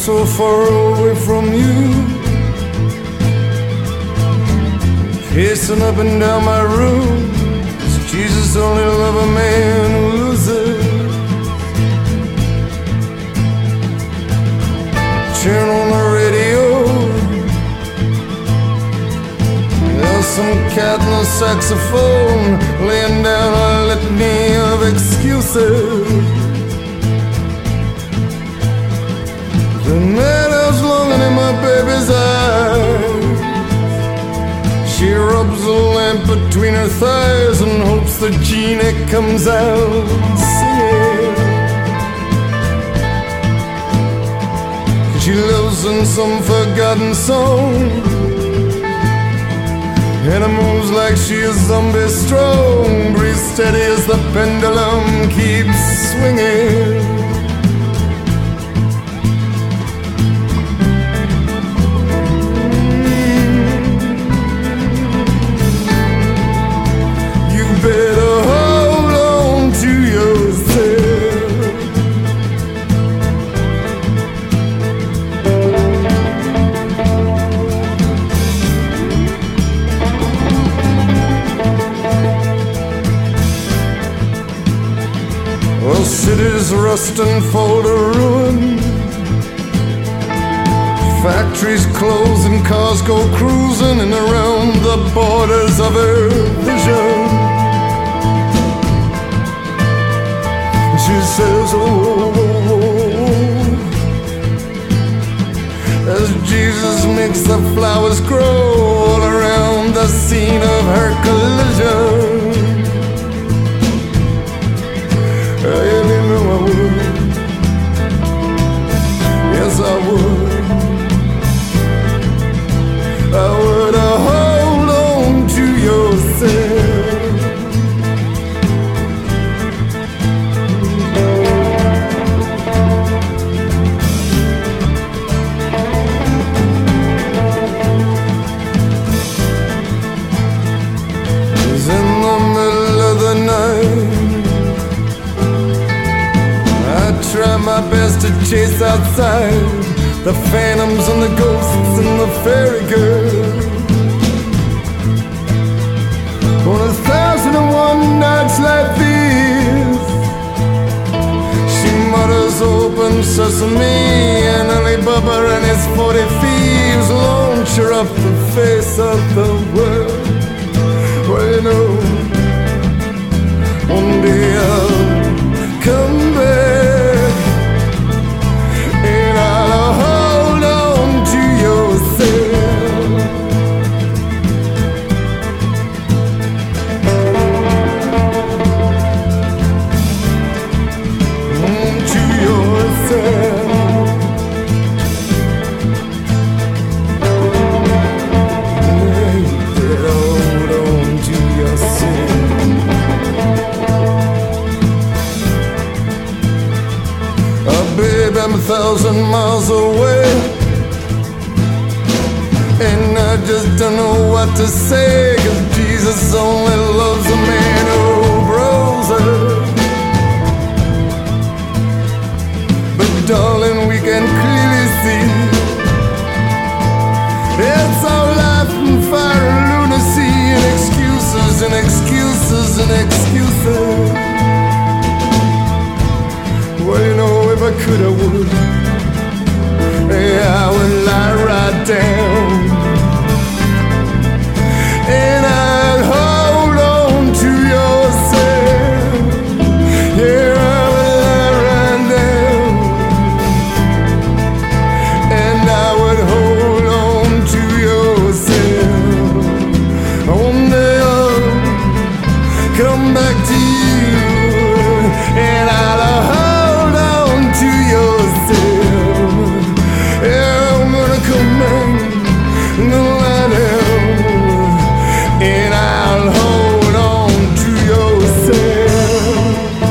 so far away from you, pacing up and down my room. Is Jesus only love a man who loses? Turn on the radio, there's some cat on the saxophone laying down a litany of excuses. The night is longing in my baby's eyes. She rubs a lamp between her thighs and hopes the genie comes out singing. She lives in some forgotten song, and it moves like she is zombie strong. Breathe steady as the pendulum keeps swinging. You better hold on to yourself. Cities rust and fall to ruin. Factories close and cars go cruising in around the borders of her vision. She says, oh, as Jesus makes the flowers grow all around the scene of her collision. You know I would. Yes, I would. I would hold on to yourself. It's in the middle of the night. Try my best to chase outside the phantoms and the ghosts and the fairy girl. On 1,001 nights like this, she mutters open sesame, and Alibaba and his 40 thieves launch her off the face of the world. Well, you know, one day I'll come back. Hold on to yourself. To yourself. Hold on to yourself. Babe, I'm 1,000 miles away, and I just don't know what to say, 'cause Jesus only loves a man who grows up. But darling, we can clearly see it's all life and fire and lunacy, and excuses and excuses and excuses. Well, you know, if I could, I would. Yeah, I would lie right down, and I'd hold on to yourself. Yeah, I would lie right down, and I would hold on to yourself. One day I'll come back to you, and I'll to yourself. Yeah, I'm gonna come back and lie down, and I'll hold on to yourself.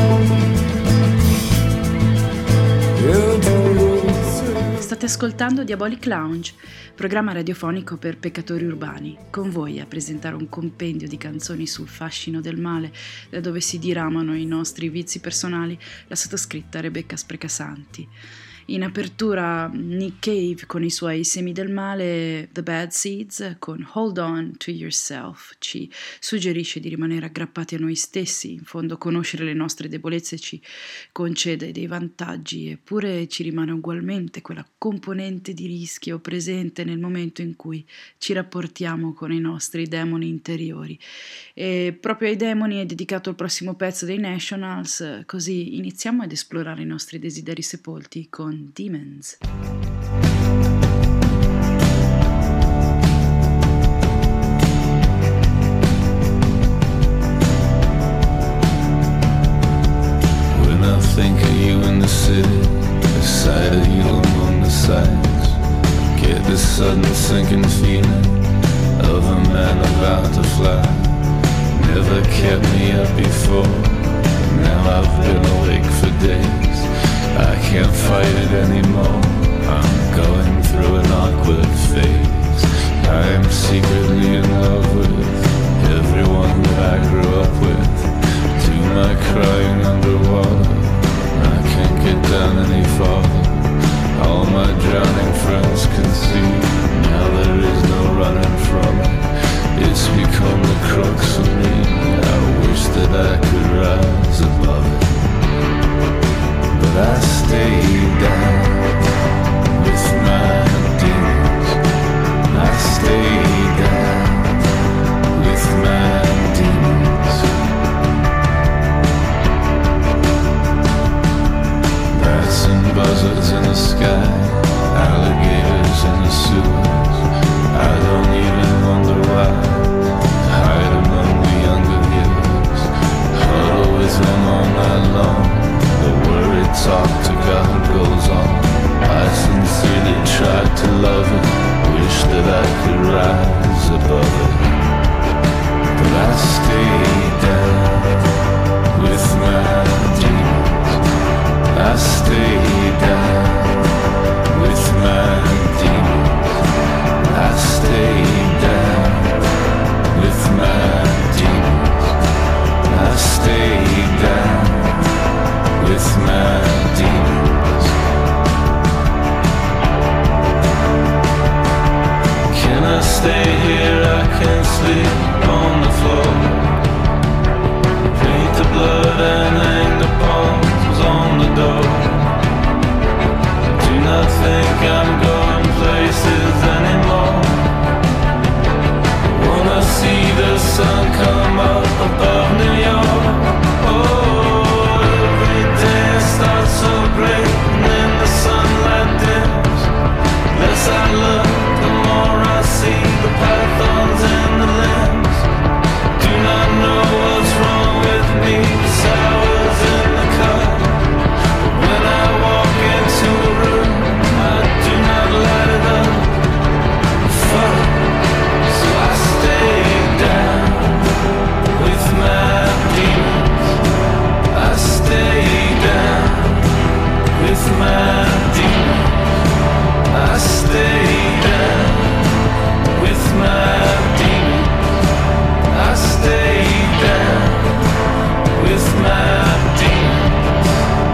Yeah, to yourself. State ascoltando Diabolic Lounge, programma radiofonico per peccatori urbani, con voi a presentare un compendio di canzoni sul fascino del male, da dove si diramano i nostri vizi personali, la sottoscritta Rebecca Sprecasanti. In apertura Nick Cave con i suoi Semi del male, The Bad Seeds con Hold On to Yourself ci suggerisce di rimanere aggrappati a noi stessi. In fondo conoscere le nostre debolezze ci concede dei vantaggi, eppure ci rimane ugualmente quella componente di rischio presente nel momento in cui ci rapportiamo con i nostri demoni interiori. E proprio ai demoni è dedicato il prossimo pezzo dei Nationals, così iniziamo ad esplorare i nostri desideri sepolti con Demons. When I think of you in the city, the sight of you among the sights, get this sudden sinking feeling of a man about to fly. Never kept me up before, now I've been awake for days. I can't fight it anymore, I'm going through an awkward phase. I am secretly in love with everyone that I grew up with. Do my crying underwater, I can't get down any farther. All my drowning friends can see, now there is no running from it. It's become the crux of me, I wish that I could rise above it. But I stay down with my demons. I stay down with my demons. Bats and buzzards in the sky, alligators in the sewers. I don't even wonder why. Hide among the younger years, huddle with them all night long. The worried talk to God goes on. I sincerely tried to love it, wish that I could rise above it. But I stay down with my demons. I stay down with my demons. I stay down with my demons. I stay down with my demons. Can I stay here? I can't sleep on the floor. Paint the blood and hang the palms on the door. Do not think I'm going places anymore. Wanna see the sun come up above New York. Oh, every day starts so great, and then the sunlight dims. Less I look, the more I see the pythons and the limbs. Do not know what's wrong with me, sours in the cup. But when I walk into a room, I do not light it up. Fuck, so I stay down with my demons. I stay down with my demons. I stay down with my demons. I stay down with my demons.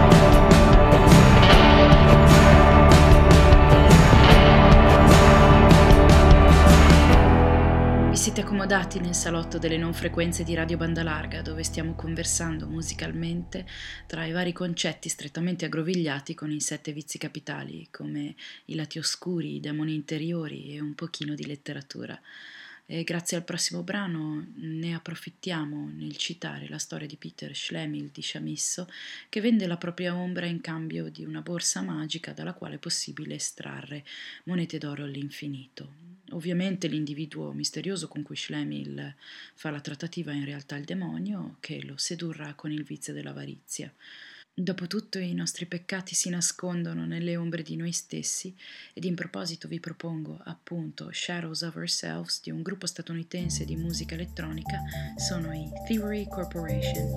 Vi siete accomodati nel salotto delle non frequenze di Radio Banda Larga, dove stiamo conversando musicalmente tra i vari concetti strettamente aggrovigliati con i 7 vizi capitali, come i lati oscuri, i demoni interiori e un pochino di letteratura. E grazie al prossimo brano ne approfittiamo nel citare la storia di Peter Schlemihl di Chamisso, che vende la propria ombra in cambio di una borsa magica dalla quale è possibile estrarre monete d'oro all'infinito. Ovviamente l'individuo misterioso con cui Schlemihl fa la trattativa è in realtà il demonio, che lo sedurrà con il vizio dell'avarizia. Dopotutto i nostri peccati si nascondono nelle ombre di noi stessi, ed in proposito vi propongo appunto Shadows of Ourselves di un gruppo statunitense di musica elettronica, sono i Thievery Corporation.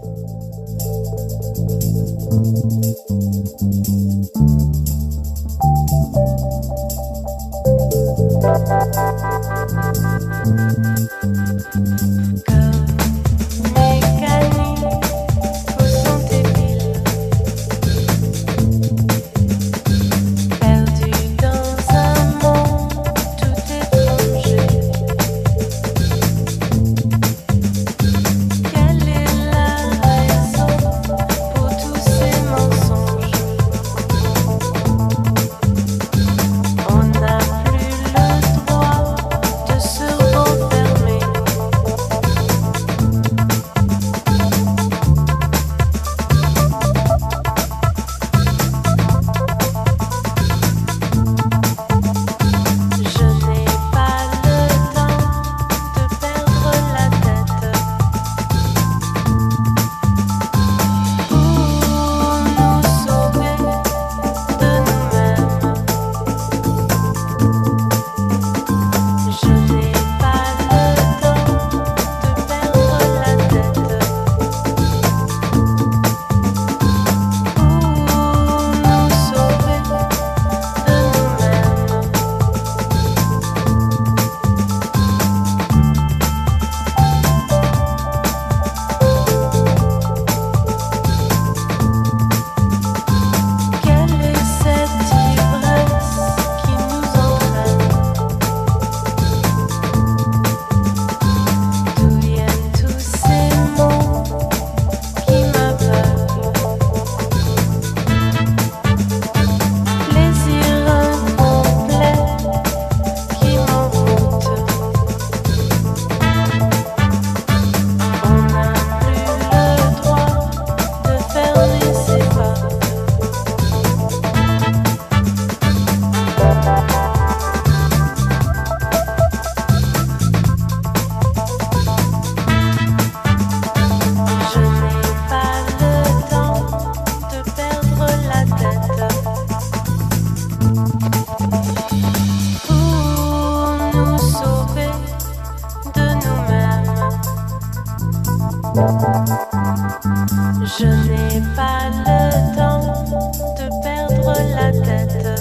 Je n'ai pas le temps de perdre la tête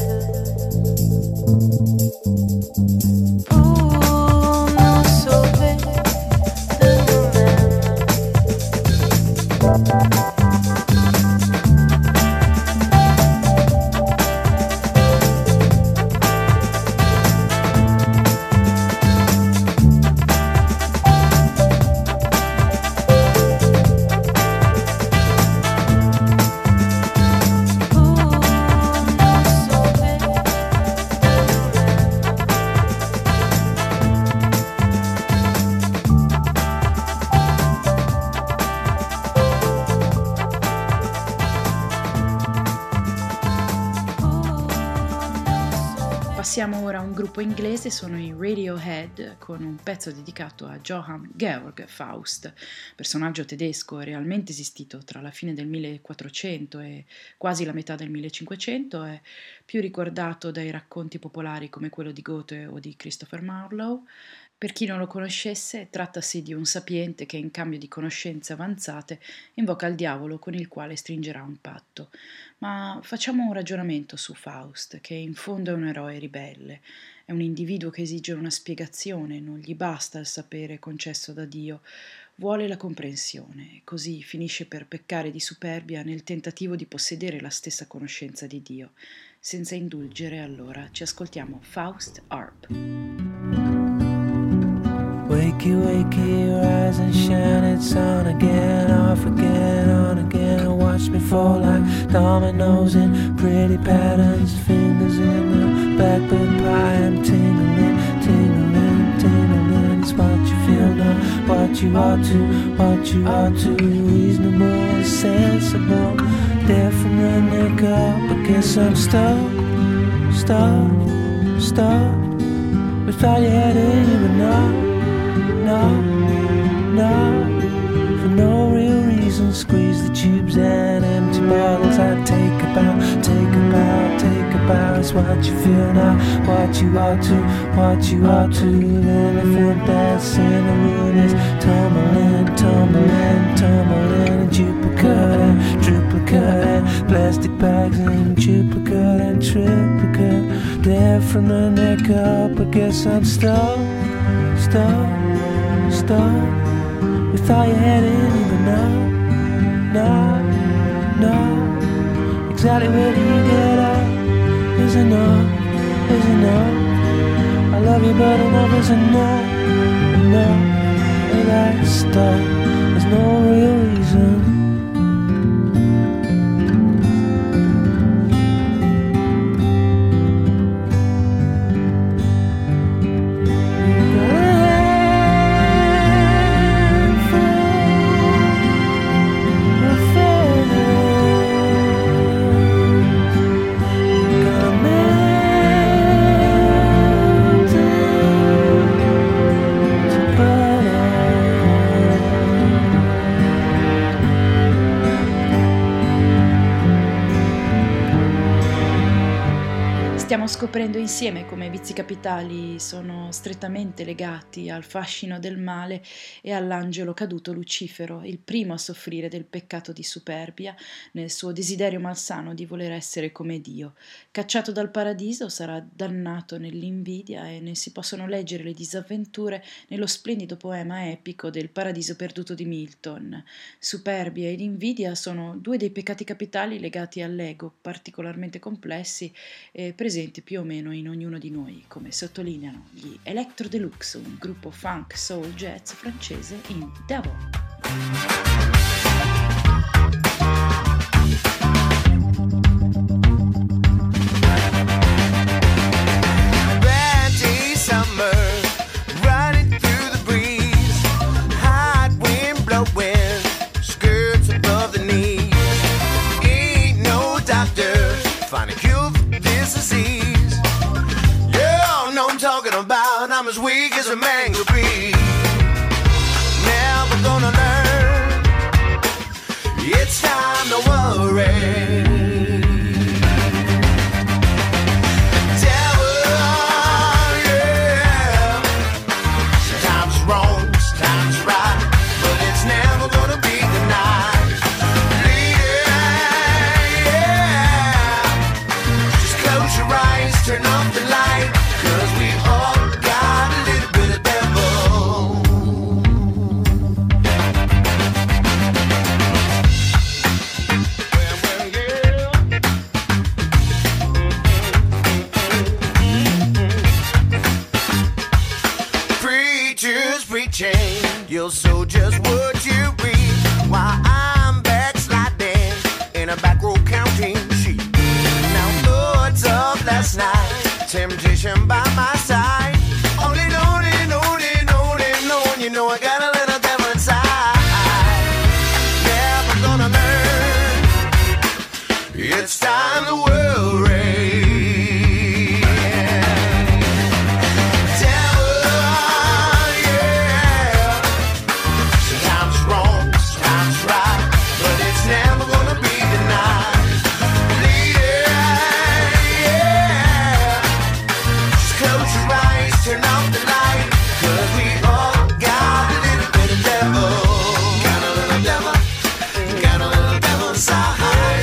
pour nous sauver de nous-mêmes. Passiamo ora a un gruppo inglese, sono i Radiohead, con un pezzo dedicato a Johann Georg Faust, personaggio tedesco realmente esistito tra la fine del 1400 e quasi la metà del 1500, è più ricordato dai racconti popolari come quello di Goethe o di Christopher Marlowe. Per chi non lo conoscesse, trattasi di un sapiente che in cambio di conoscenze avanzate invoca il diavolo con il quale stringerà un patto. Ma facciamo un ragionamento su Faust, che in fondo è un eroe ribelle, è un individuo che esige una spiegazione, non gli basta il sapere concesso da Dio, vuole la comprensione e così finisce per peccare di superbia nel tentativo di possedere la stessa conoscenza di Dio. Senza indulgere, allora, ci ascoltiamo Faust Arp. Wakey, wakey, rise and shine, it's on again, off again, on again. Watch me fall like dominoes in pretty patterns, fingers in the blackbird pie. I'm tingling, tingling, tingling. It's what you feel now, what you ought to. Reasonable, sensible, different makeup. I guess I'm stuck without you had it even now. No, for no real reason. Squeeze the tubes and empty bottles. I take a bow. It's what you feel now, what you ought to. The elephant that's in the room is tumbling. And duplicate and plastic bags and duplicate and triplicate. There from the neck up, I guess I'm stuck. Without your head in even no. Exactly where do you get up? Is enough. I love you but enough is enough. And I stop. There's no real reason. Stiamo scoprendo insieme come i vizi capitali sono strettamente legati al fascino del male e all'angelo caduto Lucifero, il primo a soffrire del peccato di superbia nel suo desiderio malsano di voler essere come Dio. Cacciato dal paradiso sarà dannato nell'invidia e ne si possono leggere le disavventure nello splendido poema epico del Paradiso perduto di Milton. Superbia ed invidia sono due dei peccati capitali legati all'ego, particolarmente complessi e presenti più o meno in ognuno di noi, come sottolineano gli Electro Deluxe, un gruppo funk soul jazz francese in Devil. I'm as weak as a man could be. Never gonna learn. It's time to worry. Devil, yeah. Sometimes it's wrong, sometimes it's right, but it's never gonna chain. You'll sow just what you reap while I'm backsliding in a back row counting sheep. Now thoughts of last night, temptation by my side. Only knowing, you know I got a little devil inside. Never gonna learn. It's time the world reigns. Devil, yeah. Sometimes wrong, sometimes right, but it's never gonna be denied. Leader, yeah. Just close your eyes, turn off the light, 'cause we all got a little bit of devil. Got a little devil, got a little devil inside.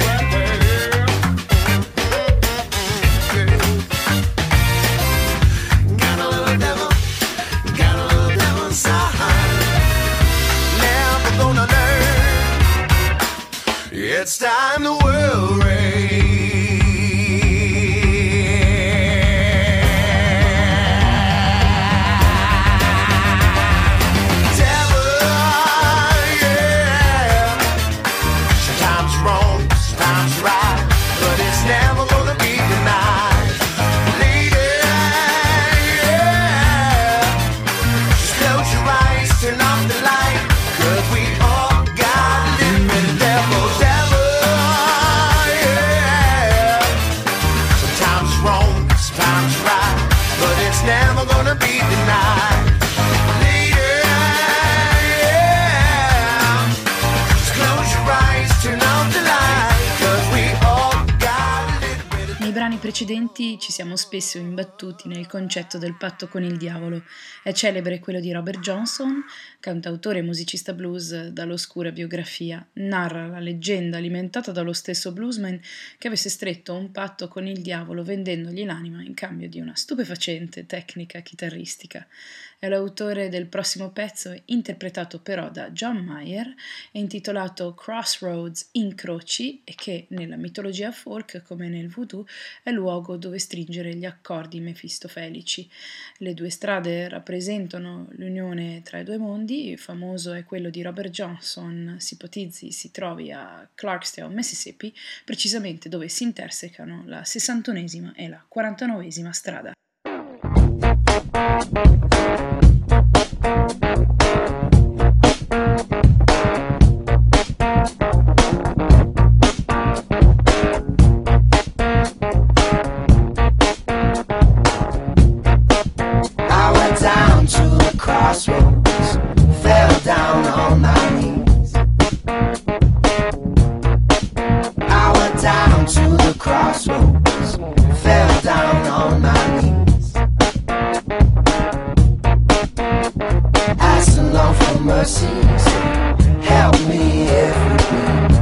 Got a little devil, got a little devil inside. Never gonna learn. It's time the world reigns. Devil, yeah. Sometimes wrong, sometimes right, but it's never gonna be denied. Lady, yeah. Just close your eyes, turn off the light, 'cause we all got a little bit of devil. Devil, yeah. Sometimes wrong, sometimes right, but it's never gonna be denied. Lady, yeah. Just close your eyes, turn off the light, 'cause we all got a little bit of Nei brani precedenti ci siamo spesso imbattuti nel concetto del patto con il diavolo. È celebre quello di Robert Johnson, cantautore e musicista blues dall'oscura biografia. Narra la leggenda alimentata dallo stesso bluesman che avesse stretto un patto con il diavolo vendendogli l'anima in cambio di una stupefacente tecnica chitarristica. È l'autore del prossimo pezzo, interpretato però da John Mayer, è intitolato Crossroads Incroci e che, nella mitologia folk come nel voodoo, è luogo dove stringere gli accordi mefistofelici. Le due strade rappresentano l'unione tra i due mondi. Famoso è quello di Robert Johnson, si ipotizzi si trovi a Clarksdale, Mississippi, precisamente dove si intersecano la 61esima e la 49esima strada. I went down to the crossroads, fell down on my knees. I went down to the crossroads, fell down on my knees. Asked the Lord for mercy, so help me every week.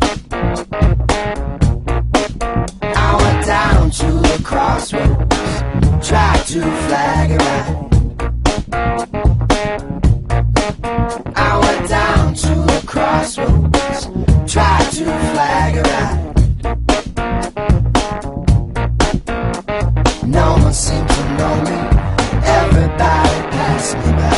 I went down to the crossroads, tried to flag it right. I went down to the crossroads, tried to flag it right. No one seemed to know me, everybody passed me by.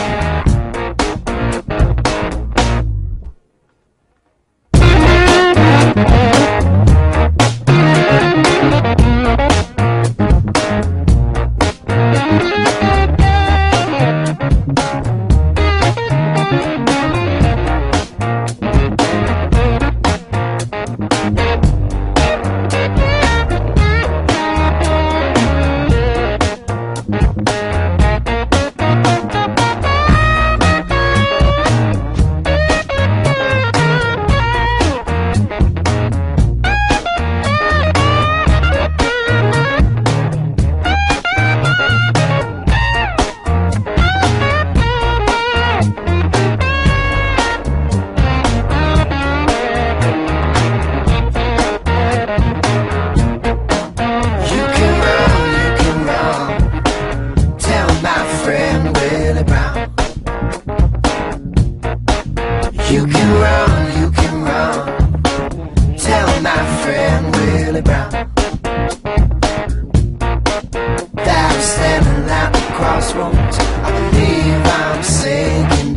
crossroads, I believe I'm sinking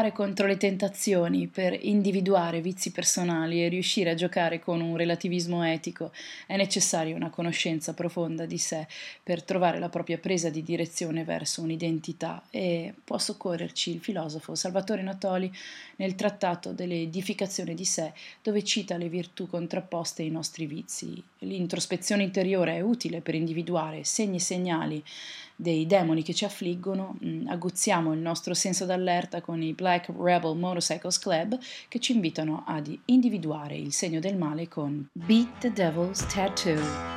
lottare contro le tentazioni, per individuare vizi personali e riuscire a giocare con un relativismo etico, è necessaria una conoscenza profonda di sé per trovare la propria presa di direzione verso un'identità, e può soccorrerci il filosofo Salvatore Natoli nel trattato dell'edificazione di sé, dove cita le virtù contrapposte ai nostri vizi. L'introspezione interiore è utile per individuare segni e segnali dei demoni che ci affliggono. Aguzziamo il nostro senso d'allerta con i Black Rebel Motorcycles Club, che ci invitano ad individuare il segno del male con Beat the Devil's Tattoo.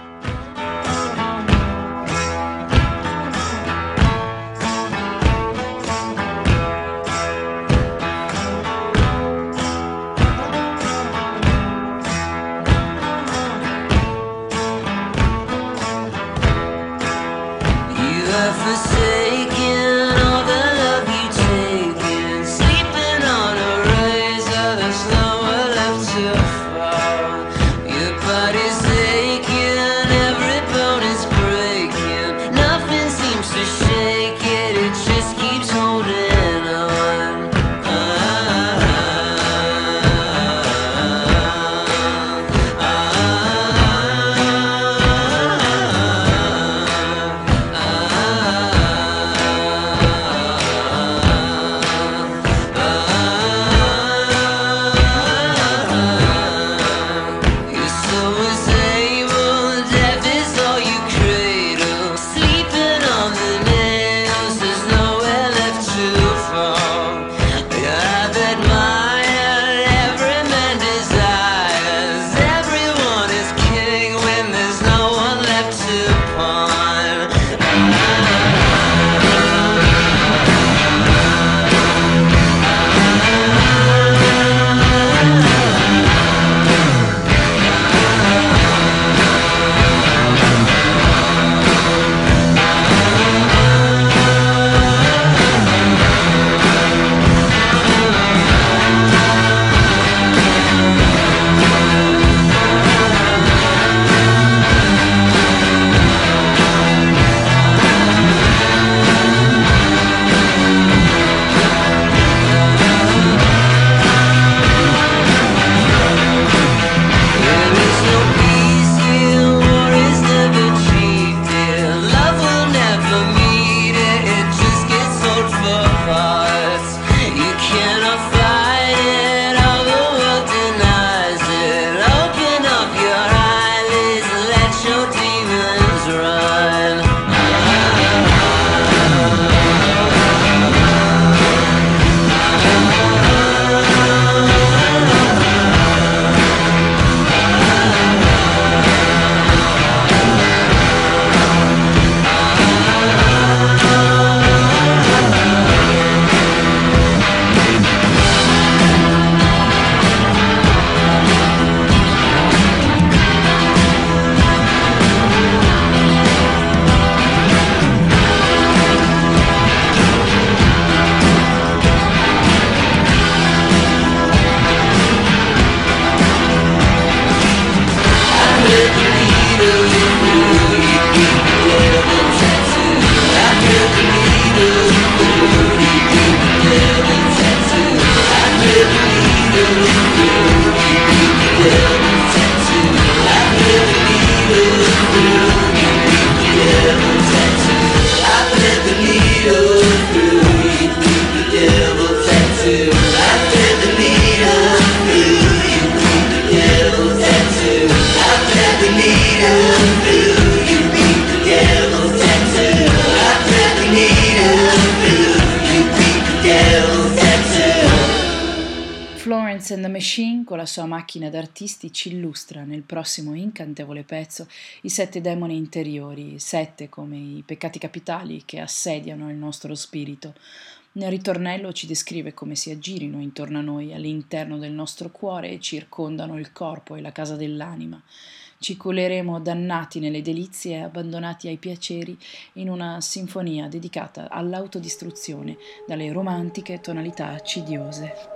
Florence and the Machine, con la sua macchina d'artisti, ci illustra nel prossimo incantevole pezzo i 7 demoni interiori, 7 come i peccati capitali che assediano il nostro spirito. Nel ritornello ci descrive come si aggirino intorno a noi, all'interno del nostro cuore, e circondano il corpo e la casa dell'anima. Ci culeremo dannati nelle delizie e abbandonati ai piaceri in una sinfonia dedicata all'autodistruzione dalle romantiche tonalità accidiose.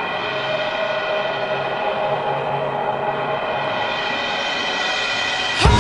Hey!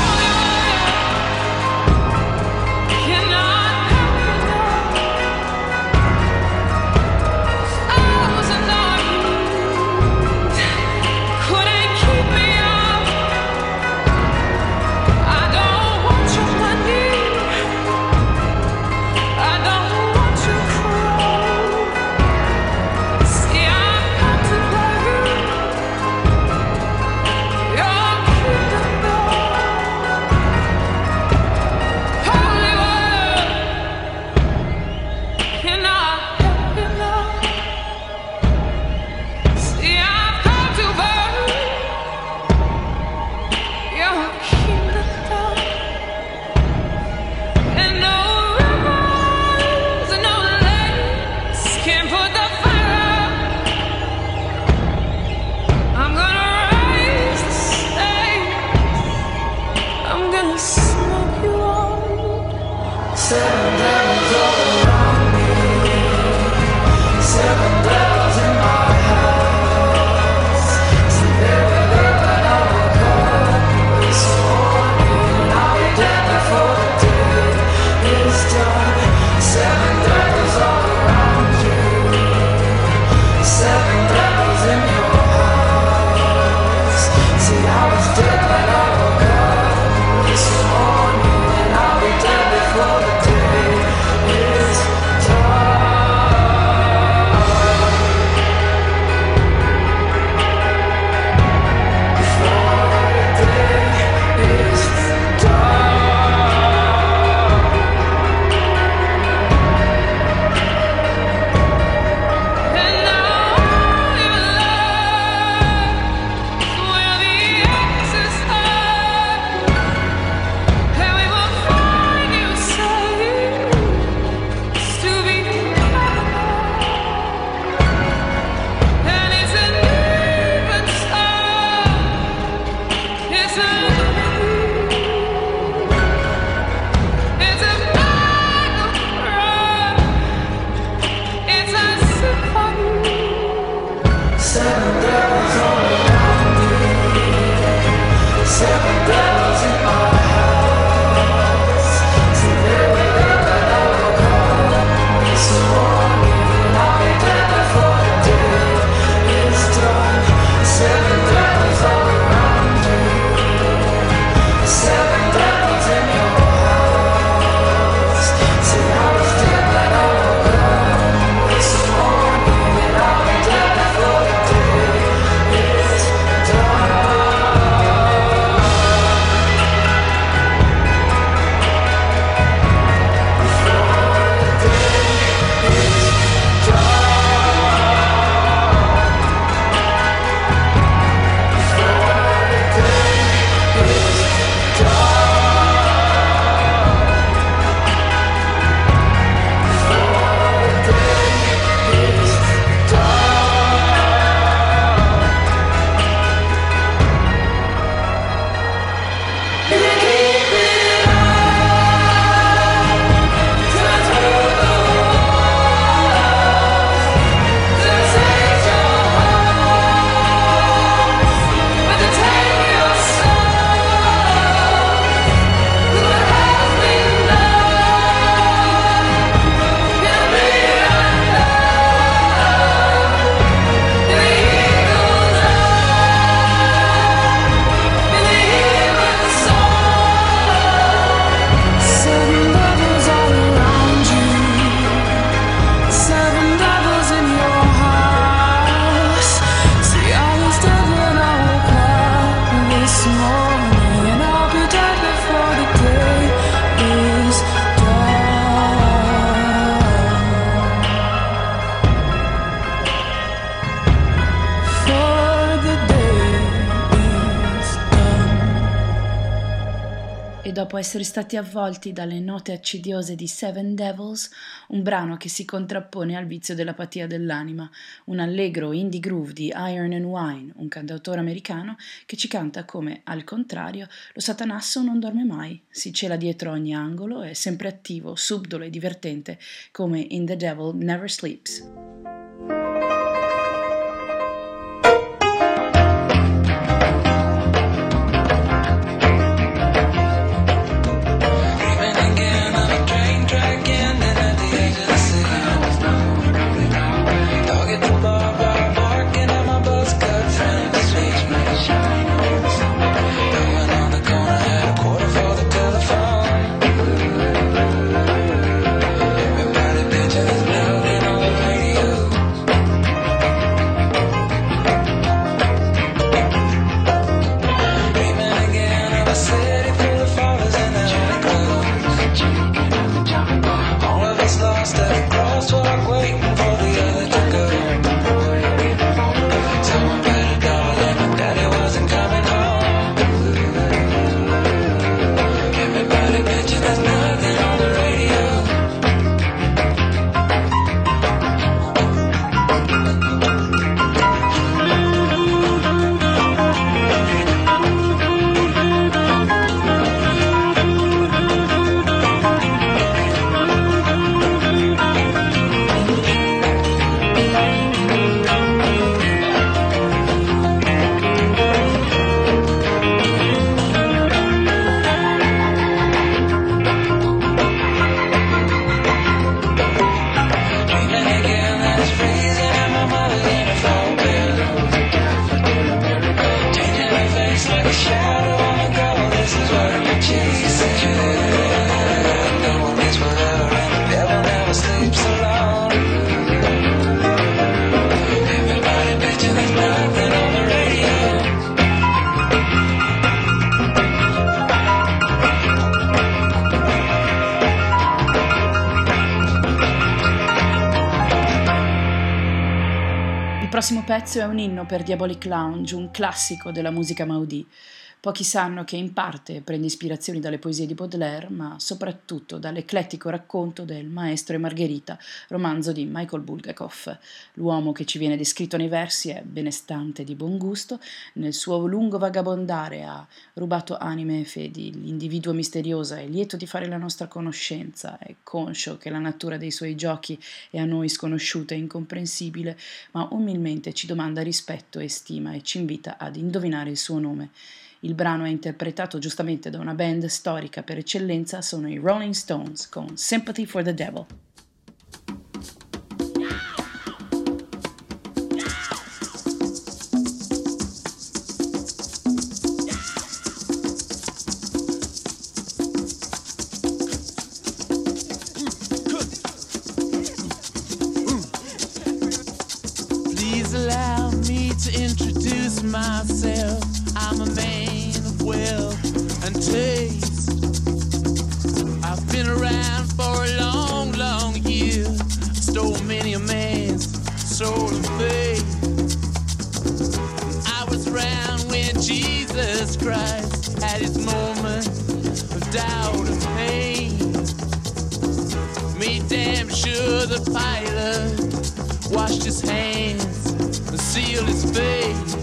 dopo essere stati avvolti dalle note accidiose di Seven Devils, un brano che si contrappone al vizio dell'apatia dell'anima, un allegro indie groove di Iron and Wine, un cantautore americano che ci canta come, al contrario, lo Satanasso non dorme mai, si cela dietro ogni angolo, è sempre attivo, subdolo e divertente come In the Devil Never Sleeps. Radio prossimo pezzo è un inno per Diabolic Lounge, un classico della musica Maudì. Pochi sanno che in parte prende ispirazioni dalle poesie di Baudelaire, ma soprattutto dall'eclettico racconto del Maestro e Margherita, romanzo di Michael Bulgakov. L'uomo che ci viene descritto nei versi è benestante e di buon gusto, nel suo lungo vagabondare ha rubato anime e fedi, l'individuo misterioso è lieto di fare la nostra conoscenza, è conscio che la natura dei suoi giochi è a noi sconosciuta e incomprensibile, ma umilmente ci domanda rispetto e stima e ci invita ad indovinare il suo nome. Il brano è interpretato giustamente da una band storica per eccellenza, sono i Rolling Stones con Sympathy for the Devil. Please allow me to introduce myself. I'm a man of wealth and taste. I've been around for a long, long year. Stole many a man's soul and faith. I was around when Jesus Christ had his moment of doubt and pain. Made damn sure the pilot washed his hands and sealed his face.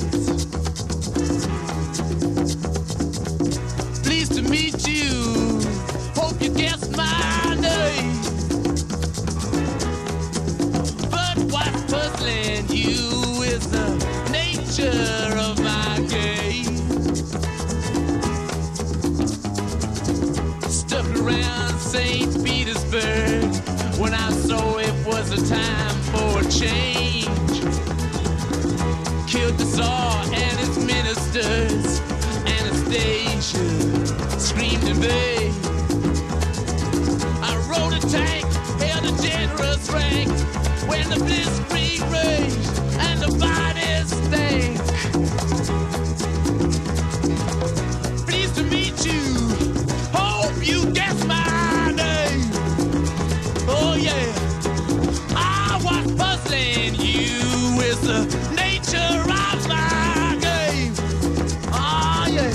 Pleased to meet you, hope you guessed my name. But what's puzzling you is the nature of my game. Stuck around St. Petersburg when I saw it was a time for a change. Killed the Tsar and his ministers. Anastasia screamed in vain. I rode a tank, held a generous rank when the blitzkrieg raged and the bodies stank. Pleased to meet you, hope you guess my name. Oh yeah, what's puzzling you is the nature of my game. Oh yeah,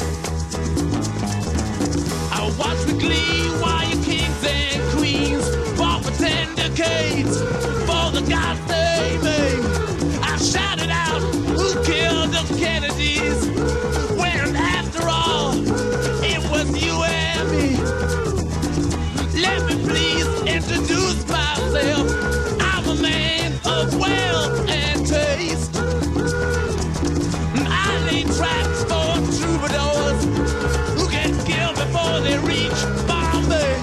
I watch with glee while your kings and queens fought for 10 decades for the gods they made. I shouted out, who killed the Kennedys? When after all, it was you and me. Let me please introduce myself. I'm a man of wealth and taste. I lay traps for troubadours who get killed before they reach Bombay.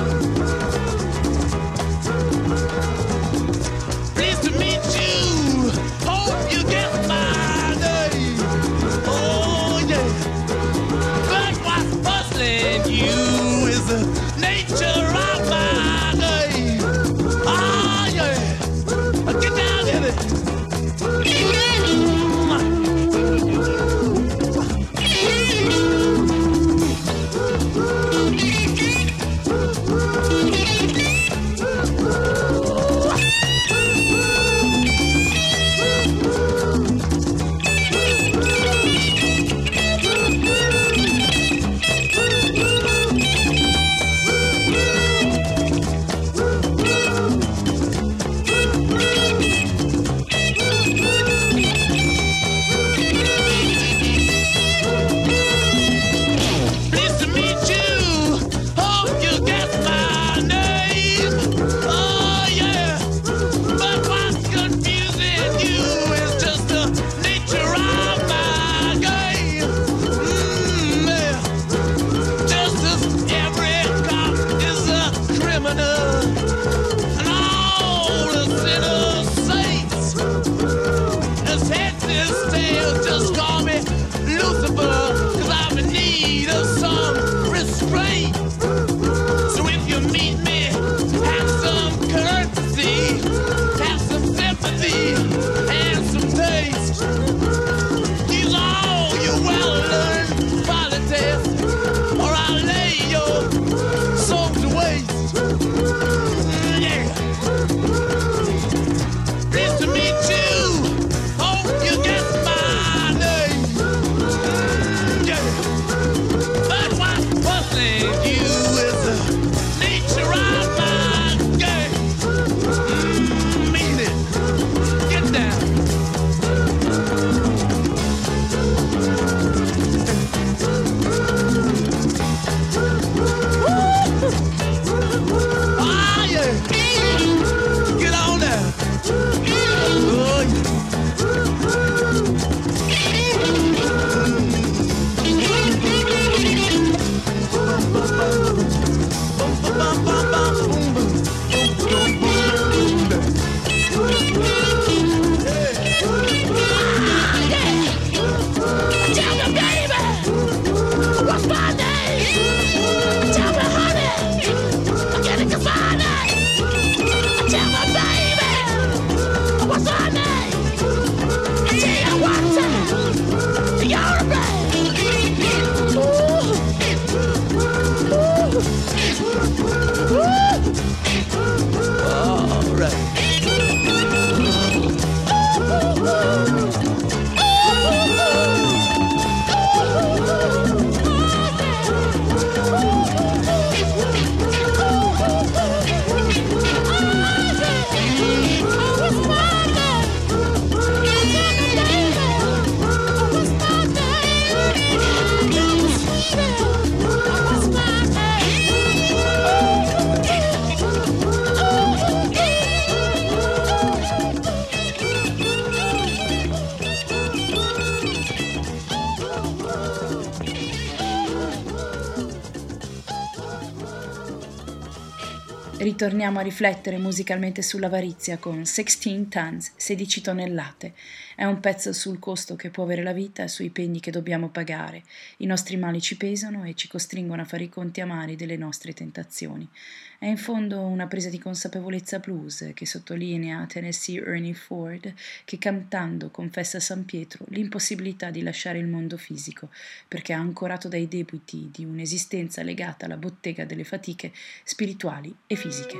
Pleased to meet you, hope you get my name. Oh yeah, but what's puzzling you is the nature of my game. Oh yeah, get down in it. Ritorniamo a riflettere musicalmente sull'avarizia con 16 Tons, 16 tonnellate. È un pezzo sul costo che può avere la vita e sui pegni che dobbiamo pagare. I nostri mali ci pesano e ci costringono a fare i conti amari delle nostre tentazioni. È in fondo una presa di consapevolezza blues che sottolinea Tennessee Ernie Ford, che cantando confessa a San Pietro l'impossibilità di lasciare il mondo fisico, perché è ancorato dai debiti di un'esistenza legata alla bottega delle fatiche spirituali e fisiche.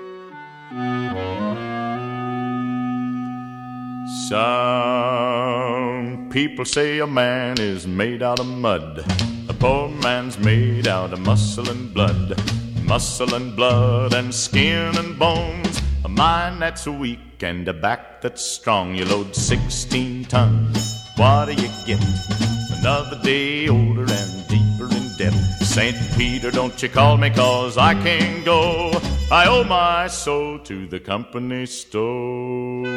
Some people say a man is made out of mud. A poor man's made out of muscle and blood. Muscle and blood and skin and bones. A mind that's weak and a back that's strong. You load 16 tons. What do you get? Another day older and deeper in debt. St. Peter, don't you call me 'cause I can't go. I owe my soul to the company store.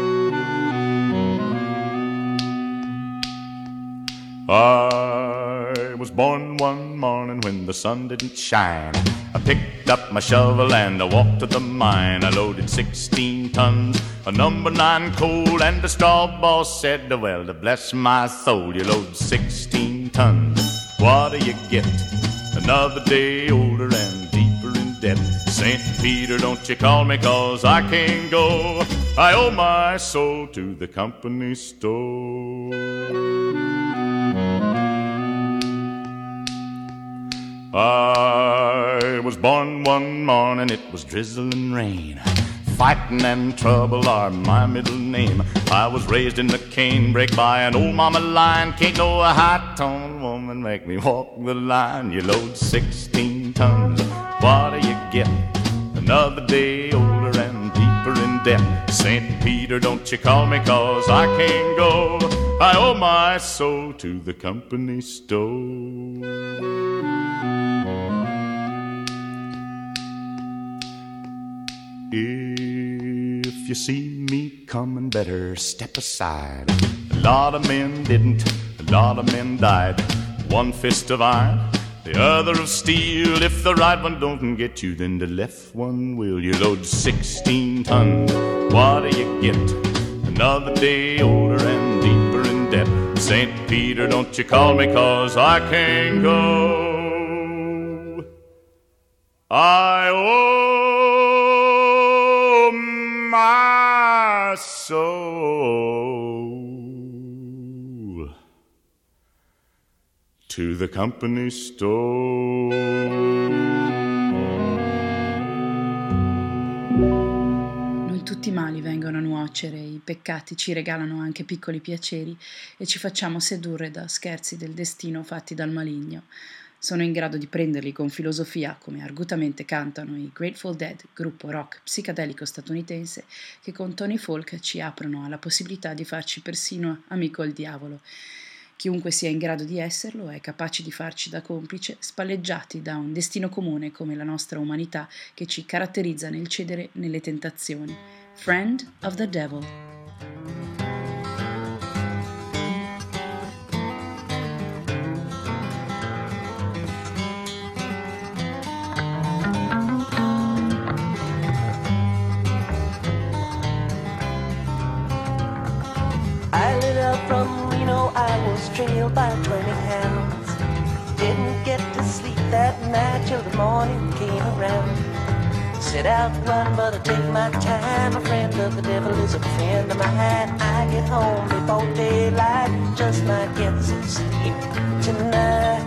I was born one morning when the sun didn't shine. I picked up my shovel and I walked to the mine. I loaded 16 tons of number 9 coal, and the straw boss said, well, to bless my soul, you load 16 tons. What do you get? Another day older and deeper in debt. St. Peter, don't you call me 'cause I can't go. I owe my soul to the company store. I was born one morning, it was drizzling rain. Fighting and trouble are my middle name. I was raised in the canebrake by an old mama lion. Can't no high-toned woman make me walk the line. You load 16 tons, what do you get? Another day older and deeper in debt. St. Peter, don't you call me 'cause I can't go. I owe my soul to the company store. If you see me coming, better step aside. A lot of men didn't, a lot of men died. One fist of iron, the other of steel. If the right one don't get you, then the left one will. You load 16 tons, what do you get? Another day older and deeper in debt. St. Peter, don't you call me 'cause I can't go. I owe my soul to the company store. Non tutti i mali vengono a nuocere, i peccati ci regalano anche piccoli piaceri e ci facciamo sedurre da scherzi del destino fatti dal maligno. Sono in grado di prenderli con filosofia, come argutamente cantano i Grateful Dead, gruppo rock psichedelico statunitense, che con Tony Folk ci aprono alla possibilità di farci persino amico al diavolo. Chiunque sia in grado di esserlo è capace di farci da complice, spalleggiati da un destino comune come la nostra umanità che ci caratterizza nel cedere nelle tentazioni. Friend of the Devil. From Reno, I was trailed by 20 hounds. Didn't get to sleep that night till the morning came around. Set out run, but I take my time. A friend of the devil is a friend of mine. I get home before daylight, just might get some sleep tonight.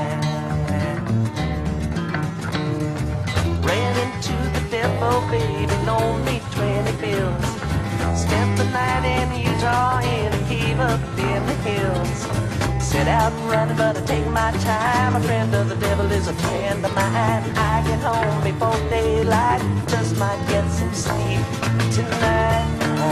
Ran into the devil, baby, loaned me 20 bills. Spent the night in Utah in a cave up in the hills. Set out running, but I take my time. A friend of the devil is a friend of mine. I get home before daylight, just might get some sleep tonight.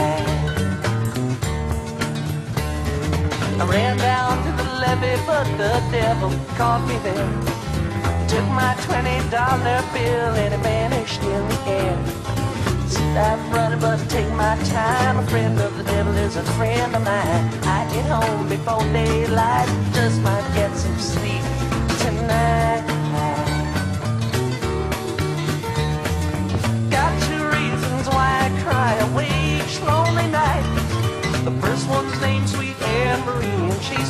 I ran down to the levee, but the devil caught me there. Took my $20 bill and it vanished in the air. Stop running, but take my time. A friend of the devil is a friend of mine. I get home before daylight, just might get some sleep tonight.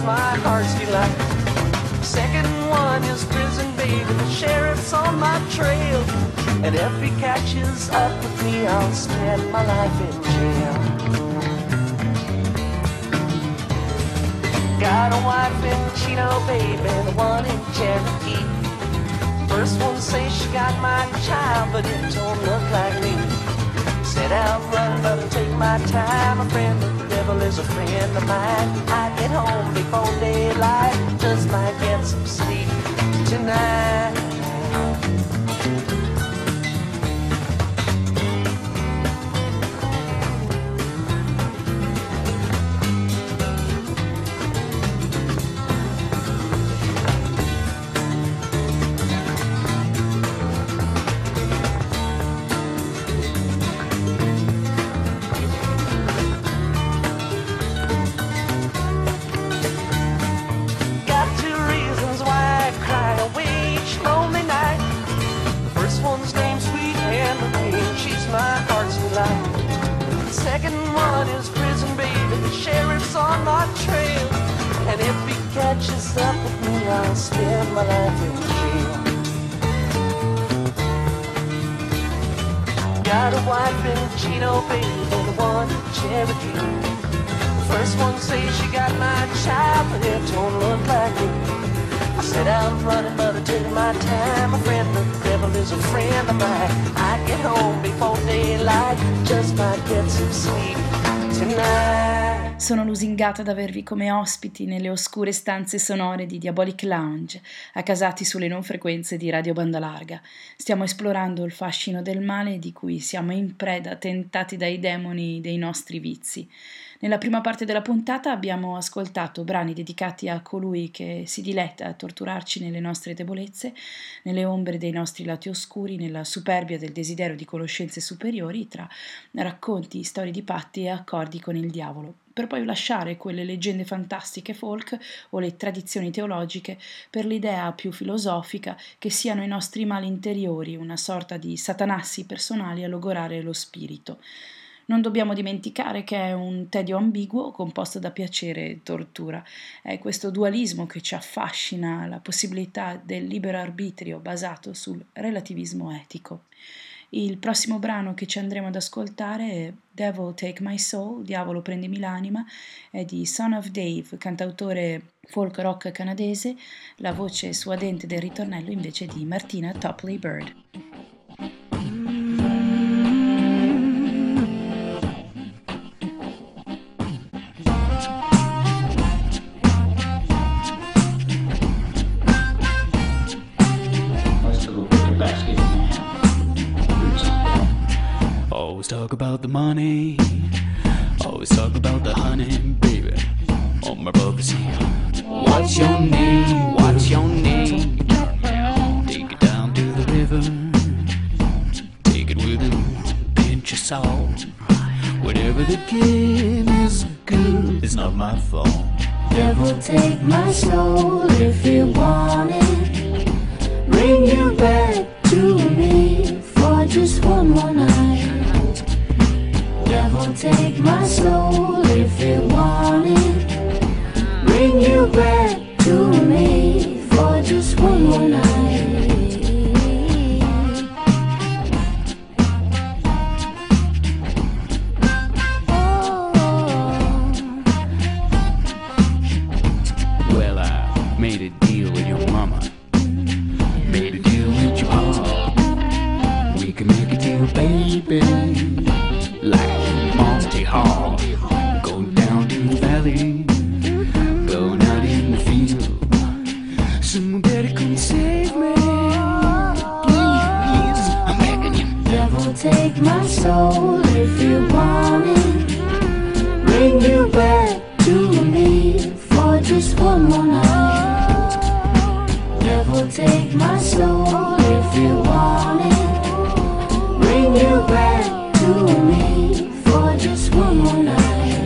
my heart's delight. Second one is prison, baby, the sheriff's on my trail. And if he catches up with me, I'll spend my life in jail. Got a wife in Chino, baby, the one in Cherokee. First one says she got my child, but it don't look like me. Set out running, but I take my time. A friend of the devil is a friend of mine. I get home before daylight, just might get some sleep tonight. Second one is prison, baby, the sheriff's on my trail. And if he catches up with me, I'll spend my life in jail. Got a wife in Chino, baby, the one in Cherokee. The first one says she got my child, but it don't look like it. I set out running, but I take my time. A friend of the devil is a friend of mine. I get home before daylight, just might get some sleep tonight. Sono lusingata ad avervi come ospiti nelle oscure stanze sonore di Diabolic Lounge, accasati sulle non frequenze di Radio Banda Larga. Stiamo esplorando il fascino del male di cui siamo in preda, tentati dai demoni dei nostri vizi. Nella prima parte della puntata abbiamo ascoltato brani dedicati a colui che si diletta a torturarci nelle nostre debolezze, nelle ombre dei nostri lati oscuri, nella superbia del desiderio di conoscenze superiori, tra racconti, storie di patti e accordi con il diavolo, per poi lasciare quelle leggende fantastiche folk o le tradizioni teologiche per l'idea più filosofica che siano i nostri mali interiori, una sorta di satanassi personali a logorare lo spirito. Non dobbiamo dimenticare che è un tedio ambiguo composto da piacere e tortura. È questo dualismo che ci affascina, la possibilità del libero arbitrio basato sul relativismo etico. Il prossimo brano che ci andremo ad ascoltare è Devil Take My Soul, Diavolo prendimi l'anima, è di Son of Dave, cantautore folk rock canadese, la voce suadente del ritornello invece di Martina Topley Bird. Always talk about the money, always talk about the honey, baby. All my brothers here. What's your name? What's your name? Take it down to the river, take it with a pinch of salt. Whatever the game is good, it's not my fault. Devil, take my soul if you want it. Bring you back to me for just one more night. Devil, take my soul if you want it. Bring you back to me for just one more night. Well, I made a deal with your mama, made a deal with your pop. We can make a deal, baby, like Monty Hall. Go down to the valley, go out in the field. Someone better come save me, please, I'm begging you. Devil, take my soul if you want it. Bring you back to me for just one more night. Devil, take my soul if you want it. Bring you back to me for just one more night.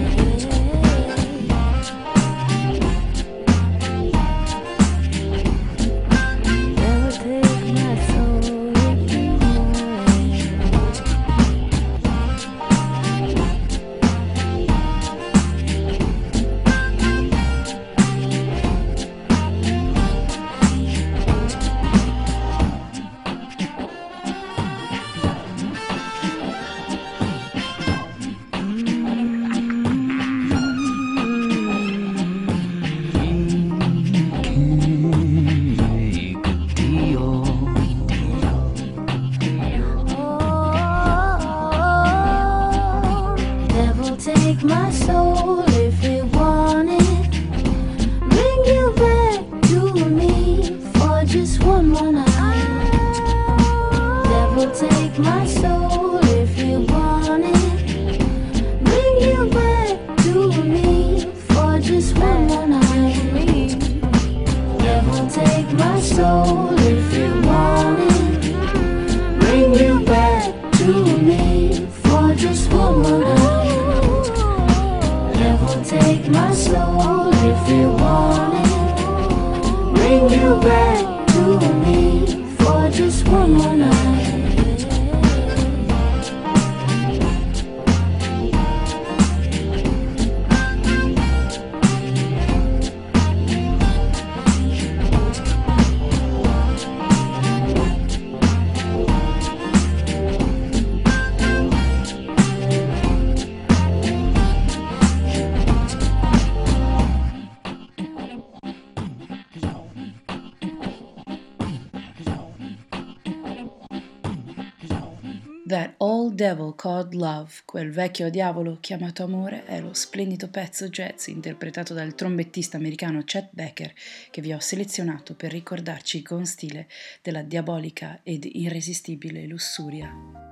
Devil, take my soul if you want it. take my soul if you want it. Bring you back to me for just one more night. Devil, take my soul if you want it. Bring you back to me for just one more night. Devil, take my soul if you want it. Bring you back to me for just one more night. That Old Devil Called Love, quel vecchio diavolo chiamato amore, è lo splendido pezzo jazz interpretato dal trombettista americano Chet Baker che vi ho selezionato per ricordarci con stile della diabolica ed irresistibile lussuria.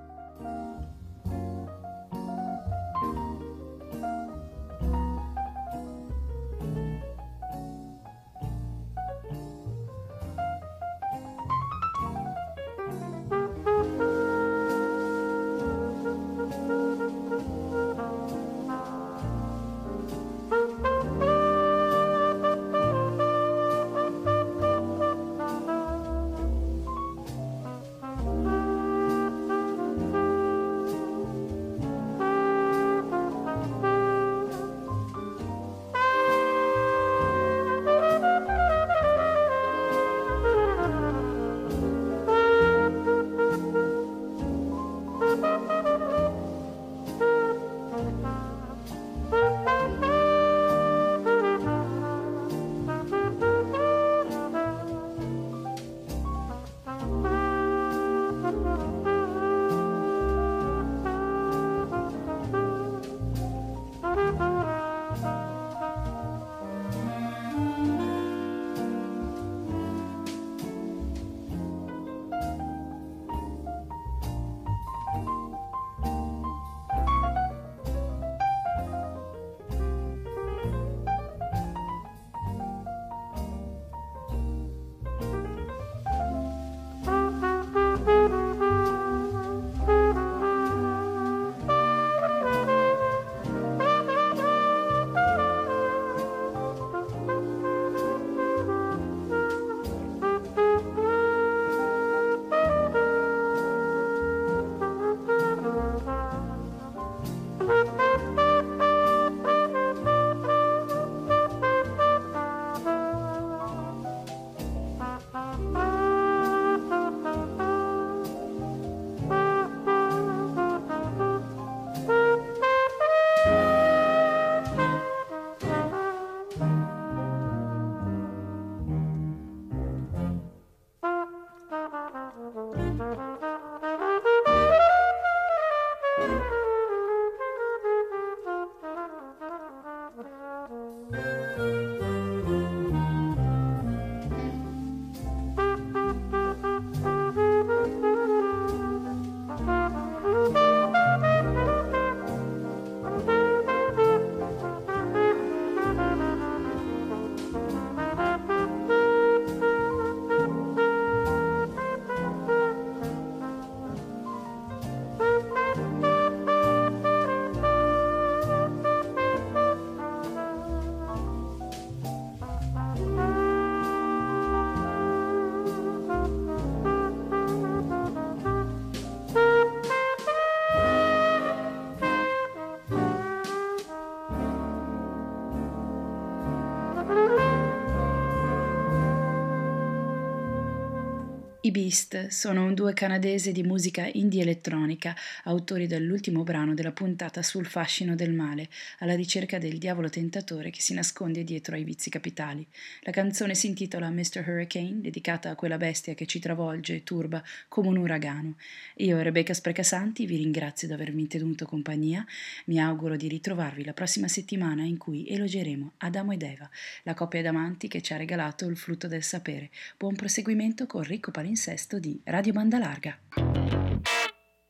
I Beast sono un duo canadese di musica indie elettronica, autori dell'ultimo brano della puntata sul fascino del male, alla ricerca del diavolo tentatore che si nasconde dietro ai vizi capitali. La canzone si intitola Mr. Hurricane, dedicata a quella bestia che ci travolge e turba come un uragano. Io, Rebecca Sprecasanti, vi ringrazio di avermi tenuto compagnia, mi auguro di ritrovarvi la prossima settimana in cui elogieremo Adamo ed Eva, la coppia d'amanti che ci ha regalato il frutto del sapere. Buon proseguimento con Ricco Palinsesto di Radio Banda Larga.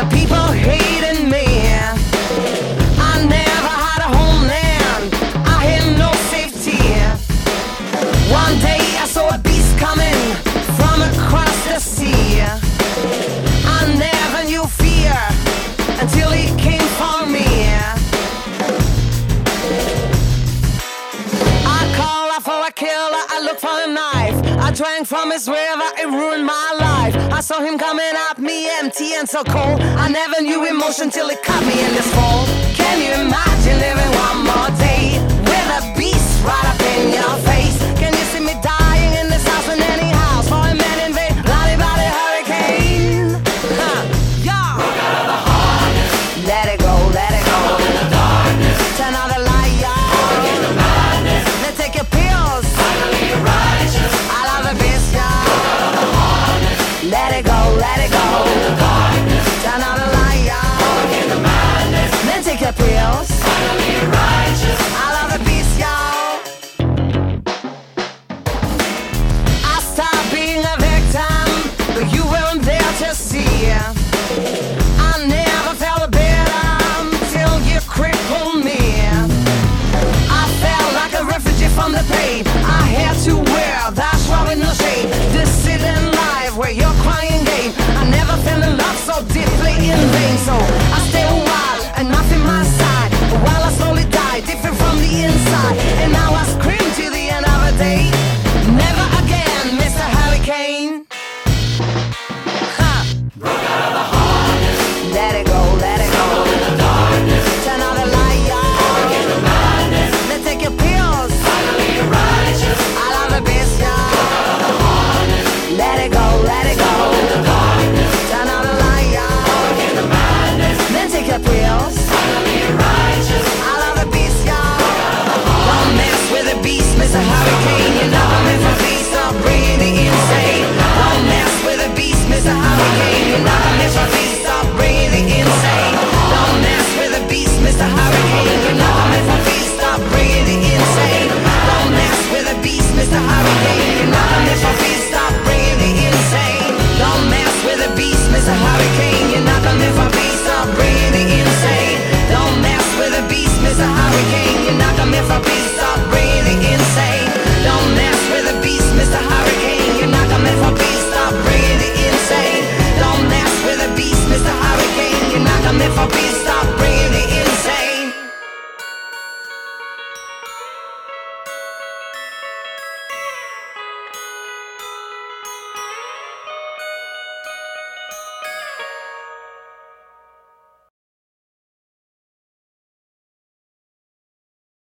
the people hating me. I never had a homeland, I had no safety. One day I saw a beast coming from across the sea. I never knew fear until he came for me. I called out for a killer, I looked for a knife. I drank from his river, it ruined my life. I saw him coming at me empty and so cold. I never knew emotion till it caught me in this fall. Can you imagine living one more day with a beast right up in your face? Can you see me dying in this house in any house for a man invade bloody bloody hurricane? Yeah. Walk out of the harness. Let it go, let it go. Walk in the darkness. Turn on the light, yeah. Forget the madness. Then take your pills. Finally you're righteous. I love the beast, yeah. Walk out of the harness. Let it go, let it go. Walk in the darkness. Turn on the light.